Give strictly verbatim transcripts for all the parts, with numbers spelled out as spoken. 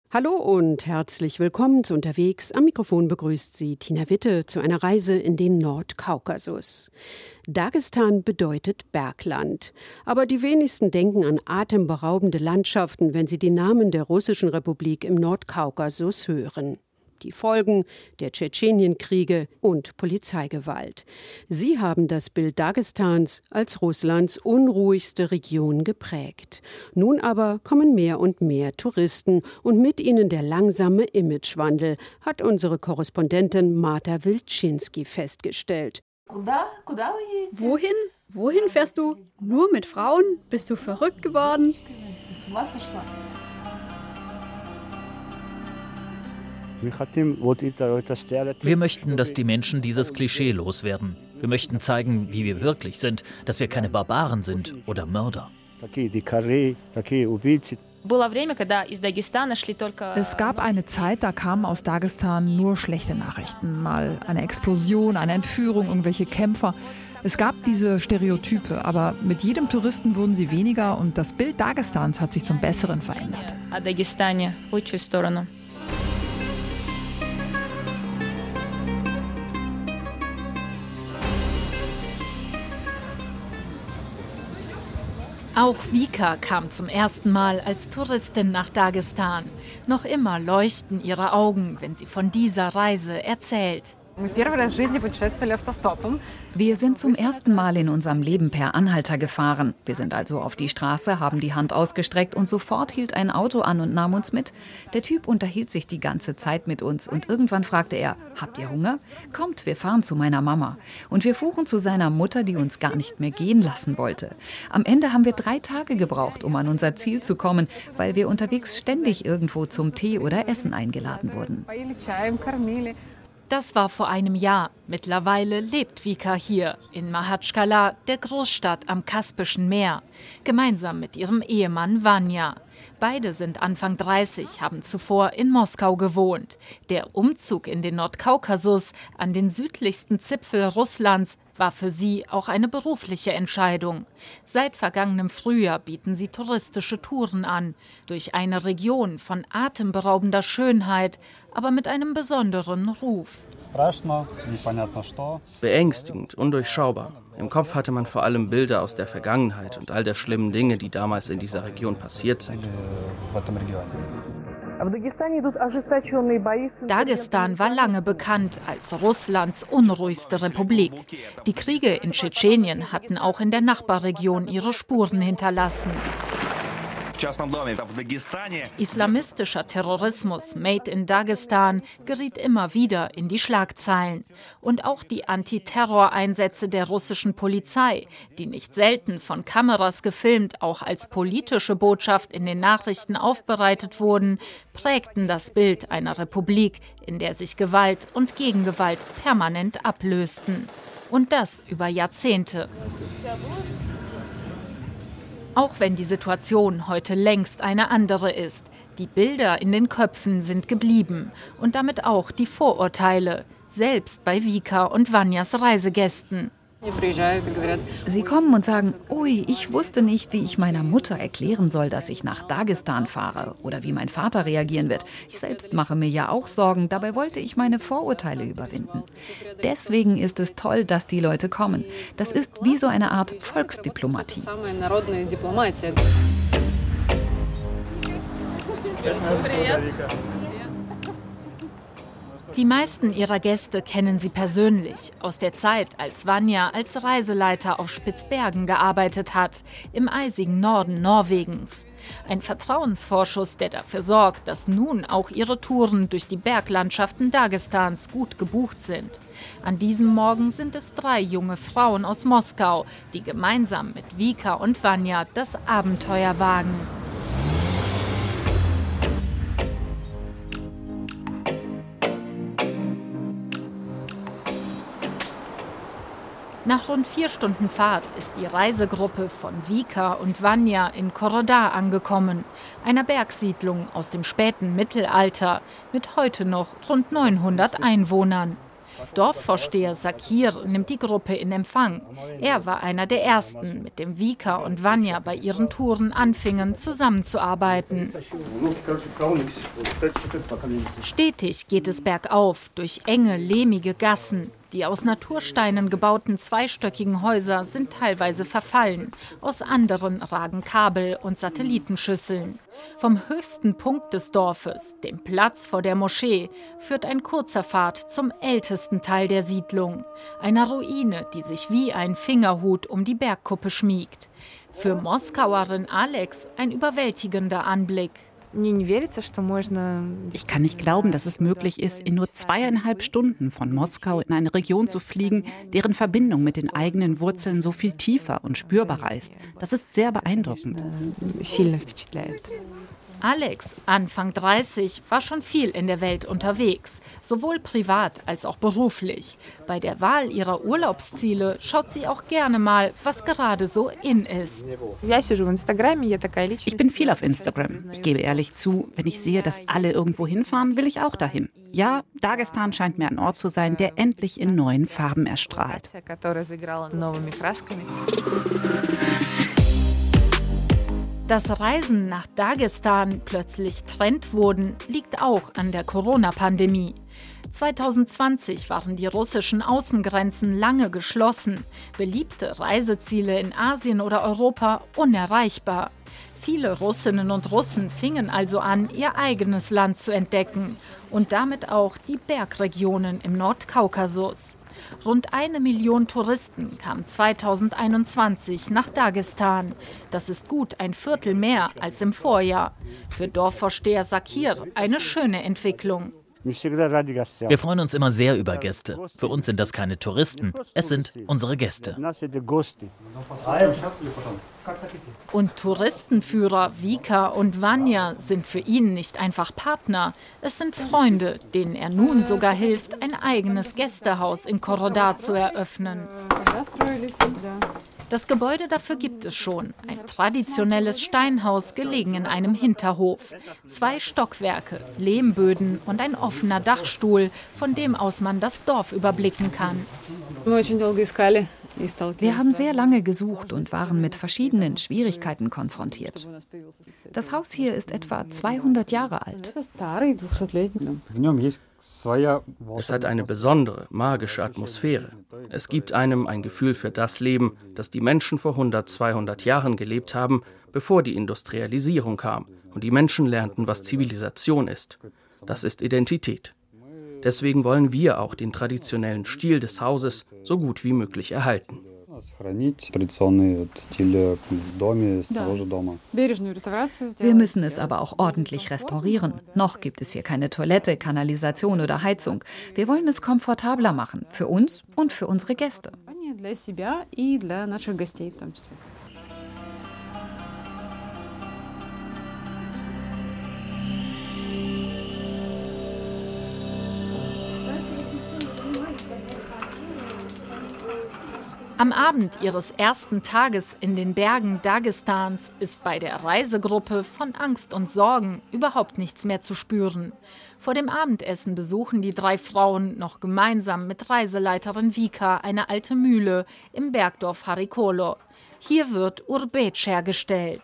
Hallo und herzlich willkommen zu Unterwegs. Am Mikrofon begrüßt Sie Tina Witte zu einer Reise in den Nordkaukasus. Dagestan bedeutet Bergland. Aber die wenigsten denken an atemberaubende Landschaften, wenn sie den Namen der russischen Republik im Nordkaukasus hören. Die Folgen der Tschetschenienkriege und Polizeigewalt. Sie haben das Bild Dagestans als Russlands unruhigste Region geprägt. Nun aber kommen mehr und mehr Touristen und mit ihnen der langsame Imagewandel, hat unsere Korrespondentin Marta Wilczynski festgestellt. Wohin? Wohin fährst du? Nur mit Frauen? Bist du verrückt geworden? Wir möchten, dass die Menschen dieses Klischee loswerden. Wir möchten zeigen, wie wir wirklich sind, dass wir keine Barbaren sind oder Mörder. Es gab eine Zeit, da kamen aus Dagestan nur schlechte Nachrichten. Mal eine Explosion, eine Entführung, irgendwelche Kämpfer. Es gab diese Stereotype, aber mit jedem Touristen wurden sie weniger und das Bild Dagestans hat sich zum Besseren verändert. Auch Vika kam zum ersten Mal als Touristin nach Dagestan. Noch immer leuchten ihre Augen, wenn sie von dieser Reise erzählt. Wir sind zum ersten Mal in unserem Leben per Anhalter gefahren. Wir sind also auf die Straße, haben die Hand ausgestreckt und sofort hielt ein Auto an und nahm uns mit. Der Typ unterhielt sich die ganze Zeit mit uns und irgendwann fragte er, habt ihr Hunger? Kommt, wir fahren zu meiner Mama. Und wir fuhren zu seiner Mutter, die uns gar nicht mehr gehen lassen wollte. Am Ende haben wir drei Tage gebraucht, um an unser Ziel zu kommen, weil wir unterwegs ständig irgendwo zum Tee oder Essen eingeladen wurden. Das war vor einem Jahr. Mittlerweile lebt Vika hier, in Mahatschkala, der Großstadt am Kaspischen Meer, gemeinsam mit ihrem Ehemann Vanja. Beide sind Anfang dreißig, haben zuvor in Moskau gewohnt. Der Umzug in den Nordkaukasus, an den südlichsten Zipfel Russlands, war für sie auch eine berufliche Entscheidung. Seit vergangenem Frühjahr bieten sie touristische Touren an, durch eine Region von atemberaubender Schönheit, aber mit einem besonderen Ruf. Beängstigend, undurchschaubar. Im Kopf hatte man vor allem Bilder aus der Vergangenheit und all der schlimmen Dinge, die damals in dieser Region passiert sind. Dagestan war lange bekannt als Russlands unruhigste Republik. Die Kriege in Tschetschenien hatten auch in der Nachbarregion ihre Spuren hinterlassen. Islamistischer Terrorismus made in Dagestan geriet immer wieder in die Schlagzeilen. Und auch die Antiterroreinsätze der russischen Polizei, die nicht selten von Kameras gefilmt, auch als politische Botschaft in den Nachrichten aufbereitet wurden, prägten das Bild einer Republik, in der sich Gewalt und Gegengewalt permanent ablösten. Und das über Jahrzehnte. Auch wenn die Situation heute längst eine andere ist. Die Bilder in den Köpfen sind geblieben und damit auch die Vorurteile, selbst bei Vika und Vanjas Reisegästen. Sie kommen und sagen, ui, ich wusste nicht, wie ich meiner Mutter erklären soll, dass ich nach Dagestan fahre oder wie mein Vater reagieren wird. Ich selbst mache mir ja auch Sorgen, dabei wollte ich meine Vorurteile überwinden. Deswegen ist es toll, dass die Leute kommen. Das ist wie so eine Art Volksdiplomatie. Die meisten ihrer Gäste kennen sie persönlich, aus der Zeit, als Vanja als Reiseleiter auf Spitzbergen gearbeitet hat, im eisigen Norden Norwegens. Ein Vertrauensvorschuss, der dafür sorgt, dass nun auch ihre Touren durch die Berglandschaften Dagestans gut gebucht sind. An diesem Morgen sind es drei junge Frauen aus Moskau, die gemeinsam mit Vika und Vanja das Abenteuer wagen. Nach rund vier Stunden Fahrt ist die Reisegruppe von Vika und Vanja in Korodar angekommen, einer Bergsiedlung aus dem späten Mittelalter mit heute noch rund neunhundert Einwohnern. Dorfvorsteher Sakir nimmt die Gruppe in Empfang. Er war einer der ersten, mit dem Vika und Vanya bei ihren Touren anfingen, zusammenzuarbeiten. Stetig geht es bergauf, durch enge, lehmige Gassen. Die aus Natursteinen gebauten zweistöckigen Häuser sind teilweise verfallen. Aus anderen ragen Kabel und Satellitenschüsseln. Vom höchsten Punkt des Dorfes, dem Platz vor der Moschee, führt ein kurzer Pfad zum ältesten Teil der Siedlung. Einer Ruine, die sich wie ein Fingerhut um die Bergkuppe schmiegt. Für Moskauerin Alex ein überwältigender Anblick. Ich kann nicht glauben, dass es möglich ist, in nur zweieinhalb Stunden von Moskau in eine Region zu fliegen, deren Verbindung mit den eigenen Wurzeln so viel tiefer und spürbarer ist. Das ist sehr beeindruckend. Alex, Anfang dreißig, war schon viel in der Welt unterwegs, sowohl privat als auch beruflich. Bei der Wahl ihrer Urlaubsziele schaut sie auch gerne mal, was gerade so in ist. Ich bin viel auf Instagram. Ich gebe ehrlich zu, wenn ich sehe, dass alle irgendwo hinfahren, will ich auch dahin. Ja, Dagestan scheint mir ein Ort zu sein, der endlich in neuen Farben erstrahlt. Dass Reisen nach Dagestan plötzlich Trend wurden, liegt auch an der Corona-Pandemie. zwanzig zwanzig waren die russischen Außengrenzen lange geschlossen, beliebte Reiseziele in Asien oder Europa unerreichbar. Viele Russinnen und Russen fingen also an, ihr eigenes Land zu entdecken und damit auch die Bergregionen im Nordkaukasus. Rund eine Million Touristen kamen zwanzig einundzwanzig nach Dagestan. Das ist gut ein Viertel mehr als im Vorjahr. Für Dorfvorsteher Sakir eine schöne Entwicklung. Wir freuen uns immer sehr über Gäste. Für uns sind das keine Touristen, es sind unsere Gäste. Und Touristenführer Vika und Vanya sind für ihn nicht einfach Partner. Es sind Freunde, denen er nun sogar hilft, ein eigenes Gästehaus in Korodar zu eröffnen. Das Gebäude dafür gibt es schon. Ein traditionelles Steinhaus, gelegen in einem Hinterhof. Zwei Stockwerke, Lehmböden und ein offener Dachstuhl, von dem aus man das Dorf überblicken kann. Wir haben sehr lange gesucht und waren mit verschiedenen Schwierigkeiten konfrontiert. Das Haus hier ist etwa zweihundert Jahre alt. Es hat eine besondere, magische Atmosphäre. Es gibt einem ein Gefühl für das Leben, das die Menschen vor hundert, zweihundert Jahren gelebt haben, bevor die Industrialisierung kam und die Menschen lernten, was Zivilisation ist. Das ist Identität. Deswegen wollen wir auch den traditionellen Stil des Hauses so gut wie möglich erhalten. Wir müssen es aber auch ordentlich restaurieren. Noch gibt es hier keine Toilette, Kanalisation oder Heizung. Wir wollen es komfortabler machen, für uns und für unsere Gäste. Am Abend ihres ersten Tages in den Bergen Dagestans ist bei der Reisegruppe von Angst und Sorgen überhaupt nichts mehr zu spüren. Vor dem Abendessen besuchen die drei Frauen noch gemeinsam mit Reiseleiterin Vika eine alte Mühle im Bergdorf Harikolo. Hier wird Urbeç hergestellt.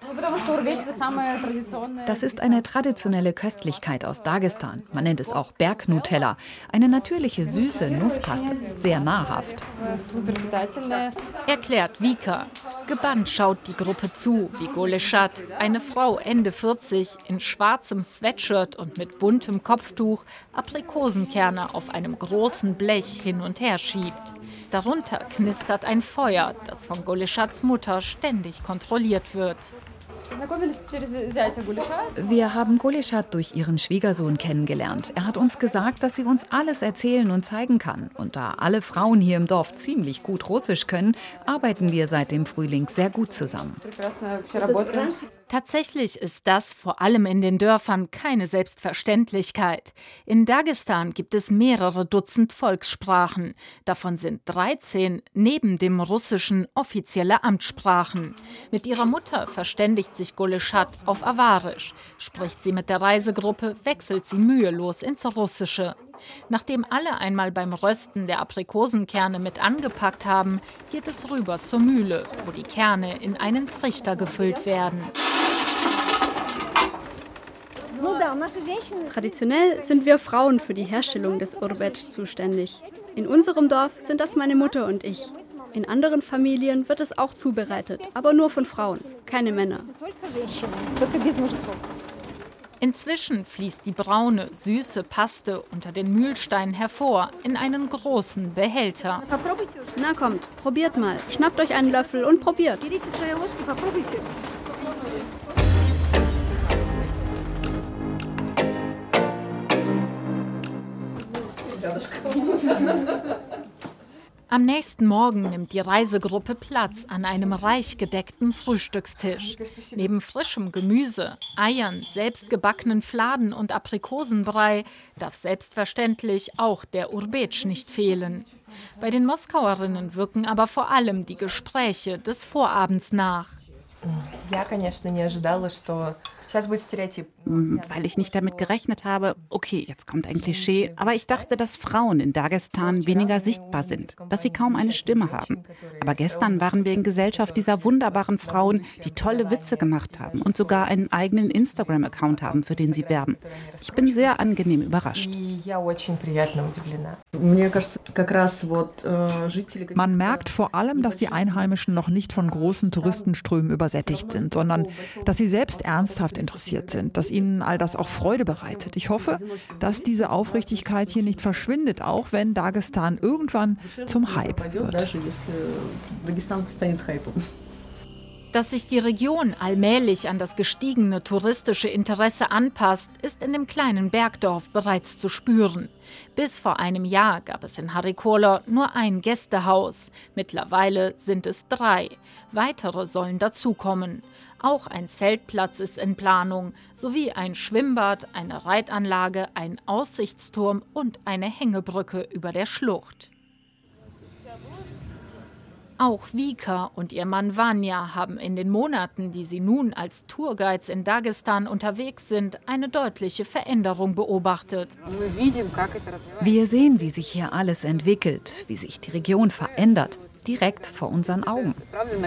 Das ist eine traditionelle Köstlichkeit aus Dagestan. Man nennt es auch Bergnutella. Eine natürliche, süße Nusspaste. Sehr nahrhaft. Erklärt Vika. Gebannt schaut die Gruppe zu, wie Goleschat, eine Frau Ende vierzig, in schwarzem Sweatshirt und mit buntem Kopftuch, Aprikosenkerne auf einem großen Blech hin und her schiebt. Darunter knistert ein Feuer, das von Goleschats Mutter ständig kontrolliert wird. Wir haben Goleschat durch ihren Schwiegersohn kennengelernt. Er hat uns gesagt, dass sie uns alles erzählen und zeigen kann. Und da alle Frauen hier im Dorf ziemlich gut Russisch können, arbeiten wir seit dem Frühling sehr gut zusammen. Tatsächlich ist das vor allem in den Dörfern keine Selbstverständlichkeit. In Dagestan gibt es mehrere Dutzend Volkssprachen. Davon sind dreizehn neben dem Russischen offizielle Amtssprachen. Mit ihrer Mutter verständigt sich Goleschat auf Awarisch. Spricht sie mit der Reisegruppe, wechselt sie mühelos ins Russische. Nachdem alle einmal beim Rösten der Aprikosenkerne mit angepackt haben, geht es rüber zur Mühle, wo die Kerne in einen Trichter gefüllt werden. Traditionell sind wir Frauen für die Herstellung des Urbec zuständig. In unserem Dorf sind das meine Mutter und ich. In anderen Familien wird es auch zubereitet, aber nur von Frauen, keine Männer. Inzwischen fließt die braune, süße Paste unter den Mühlsteinen hervor in einen großen Behälter. Na kommt, probiert mal. Schnappt euch einen Löffel und probiert. Am nächsten Morgen nimmt die Reisegruppe Platz an einem reich gedeckten Frühstückstisch. Neben frischem Gemüse, Eiern, selbstgebackenen Fladen und Aprikosenbrei darf selbstverständlich auch der Urbec nicht fehlen. Bei den Moskauerinnen wirken aber vor allem die Gespräche des Vorabends nach. Weil ich nicht damit gerechnet habe, okay, jetzt kommt ein Klischee, aber ich dachte, dass Frauen in Dagestan weniger sichtbar sind, dass sie kaum eine Stimme haben. Aber gestern waren wir in Gesellschaft dieser wunderbaren Frauen, die tolle Witze gemacht haben und sogar einen eigenen Instagram-Account haben, für den sie werben. Ich bin sehr angenehm überrascht. Man merkt vor allem, dass die Einheimischen noch nicht von großen Touristenströmen übersättigt sind, sondern dass sie selbst ernsthaft interessiert sind, dass ihnen all das auch Freude bereitet. Ich hoffe, dass diese Aufrichtigkeit hier nicht verschwindet, auch wenn Dagestan irgendwann zum Hype wird. Dass sich die Region allmählich an das gestiegene touristische Interesse anpasst, ist in dem kleinen Bergdorf bereits zu spüren. Bis vor einem Jahr gab es in Harikola nur ein Gästehaus. Mittlerweile sind es drei. Weitere sollen dazukommen. Auch ein Zeltplatz ist in Planung, sowie ein Schwimmbad, eine Reitanlage, ein Aussichtsturm und eine Hängebrücke über der Schlucht. Auch Vika und ihr Mann Vanya haben in den Monaten, die sie nun als Tourguides in Dagestan unterwegs sind, eine deutliche Veränderung beobachtet. Wir sehen, wie sich hier alles entwickelt, wie sich die Region verändert, direkt vor unseren Augen.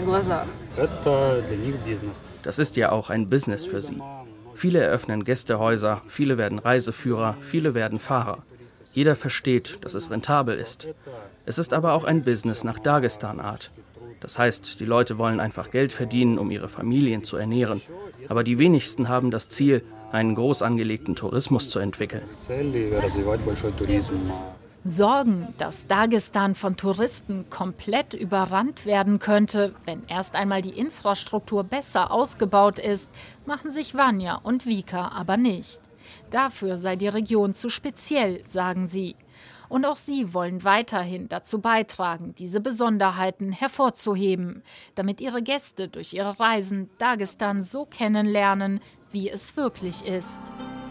Das ist ja auch ein Business für sie. Viele eröffnen Gästehäuser, viele werden Reiseführer, viele werden Fahrer. Jeder versteht, dass es rentabel ist. Es ist aber auch ein Business nach Dagestan-Art. Das heißt, die Leute wollen einfach Geld verdienen, um ihre Familien zu ernähren. Aber die wenigsten haben das Ziel, einen groß angelegten Tourismus zu entwickeln. Sorgen, dass Dagestan von Touristen komplett überrannt werden könnte, wenn erst einmal die Infrastruktur besser ausgebaut ist, machen sich Vanya und Vika aber nicht. Dafür sei die Region zu speziell, sagen sie. Und auch sie wollen weiterhin dazu beitragen, diese Besonderheiten hervorzuheben, damit ihre Gäste durch ihre Reisen Dagestan so kennenlernen, wie es wirklich ist.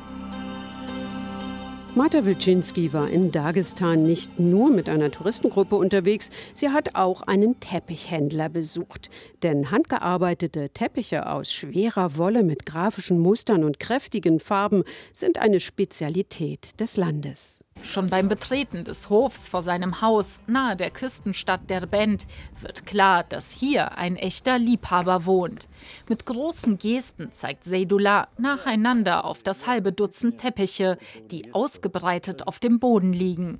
Marta Wilczynski war in Dagestan nicht nur mit einer Touristengruppe unterwegs, sie hat auch einen Teppichhändler besucht. Denn handgearbeitete Teppiche aus schwerer Wolle mit grafischen Mustern und kräftigen Farben sind eine Spezialität des Landes. Schon beim Betreten des Hofs vor seinem Haus nahe der Küstenstadt Derbent wird klar, dass hier ein echter Liebhaber wohnt. Mit großen Gesten zeigt Seydullah nacheinander auf das halbe Dutzend Teppiche, die ausgebreitet auf dem Boden liegen.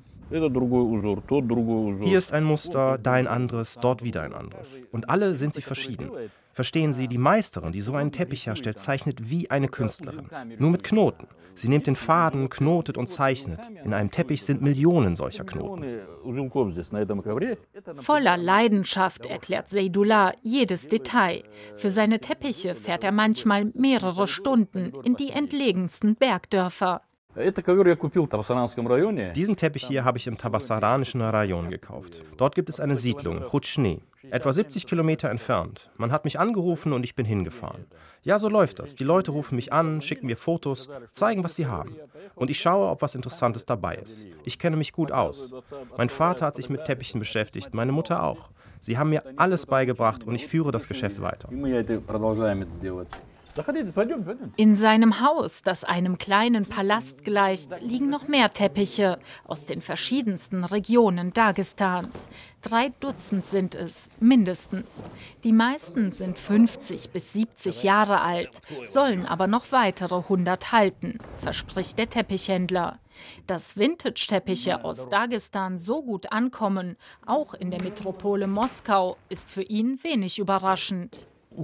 Hier ist ein Muster, da ein anderes, dort wieder ein anderes. Und alle sind sie verschieden. Verstehen Sie, die Meisterin, die so einen Teppich herstellt, zeichnet wie eine Künstlerin. Nur mit Knoten. Sie nimmt den Faden, knotet und zeichnet. In einem Teppich sind Millionen solcher Knoten. Voller Leidenschaft erklärt Seydullah jedes Detail. Für seine Teppiche fährt er manchmal mehrere Stunden in die entlegensten Bergdörfer. Diesen Teppich hier habe ich im Tabassaranischen Rayon gekauft. Dort gibt es eine Siedlung, Rutschne, etwa siebzig Kilometer entfernt. Man hat mich angerufen und ich bin hingefahren. Ja, so läuft das. Die Leute rufen mich an, schicken mir Fotos, zeigen, was sie haben. Und ich schaue, ob was Interessantes dabei ist. Ich kenne mich gut aus. Mein Vater hat sich mit Teppichen beschäftigt, meine Mutter auch. Sie haben mir alles beigebracht und ich führe das Geschäft weiter. In seinem Haus, das einem kleinen Palast gleicht, liegen noch mehr Teppiche aus den verschiedensten Regionen Dagestans. Drei Dutzend sind es, mindestens. Die meisten sind fünfzig bis siebzig Jahre alt, sollen aber noch weitere hundert halten, verspricht der Teppichhändler. Dass Vintage-Teppiche aus Dagestan so gut ankommen, auch in der Metropole Moskau, ist für ihn wenig überraschend.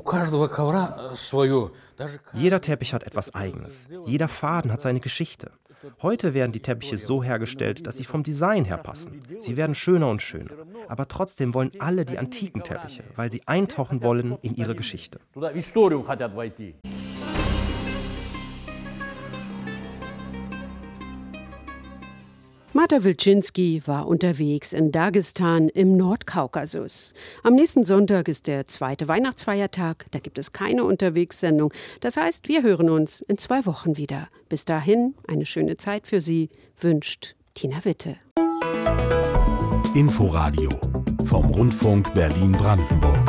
Jeder Teppich hat etwas Eigenes. Jeder Faden hat seine Geschichte. Heute werden die Teppiche so hergestellt, dass sie vom Design her passen. Sie werden schöner und schöner. Aber trotzdem wollen alle die antiken Teppiche, weil sie eintauchen wollen in ihre Geschichte. Marta Wilczynski war unterwegs in Dagestan im Nordkaukasus. Am nächsten Sonntag ist der zweite Weihnachtsfeiertag. Da gibt es keine Unterwegssendung. Das heißt, wir hören uns in zwei Wochen wieder. Bis dahin eine schöne Zeit für Sie, wünscht Tina Witte. Inforadio vom Rundfunk Berlin-Brandenburg.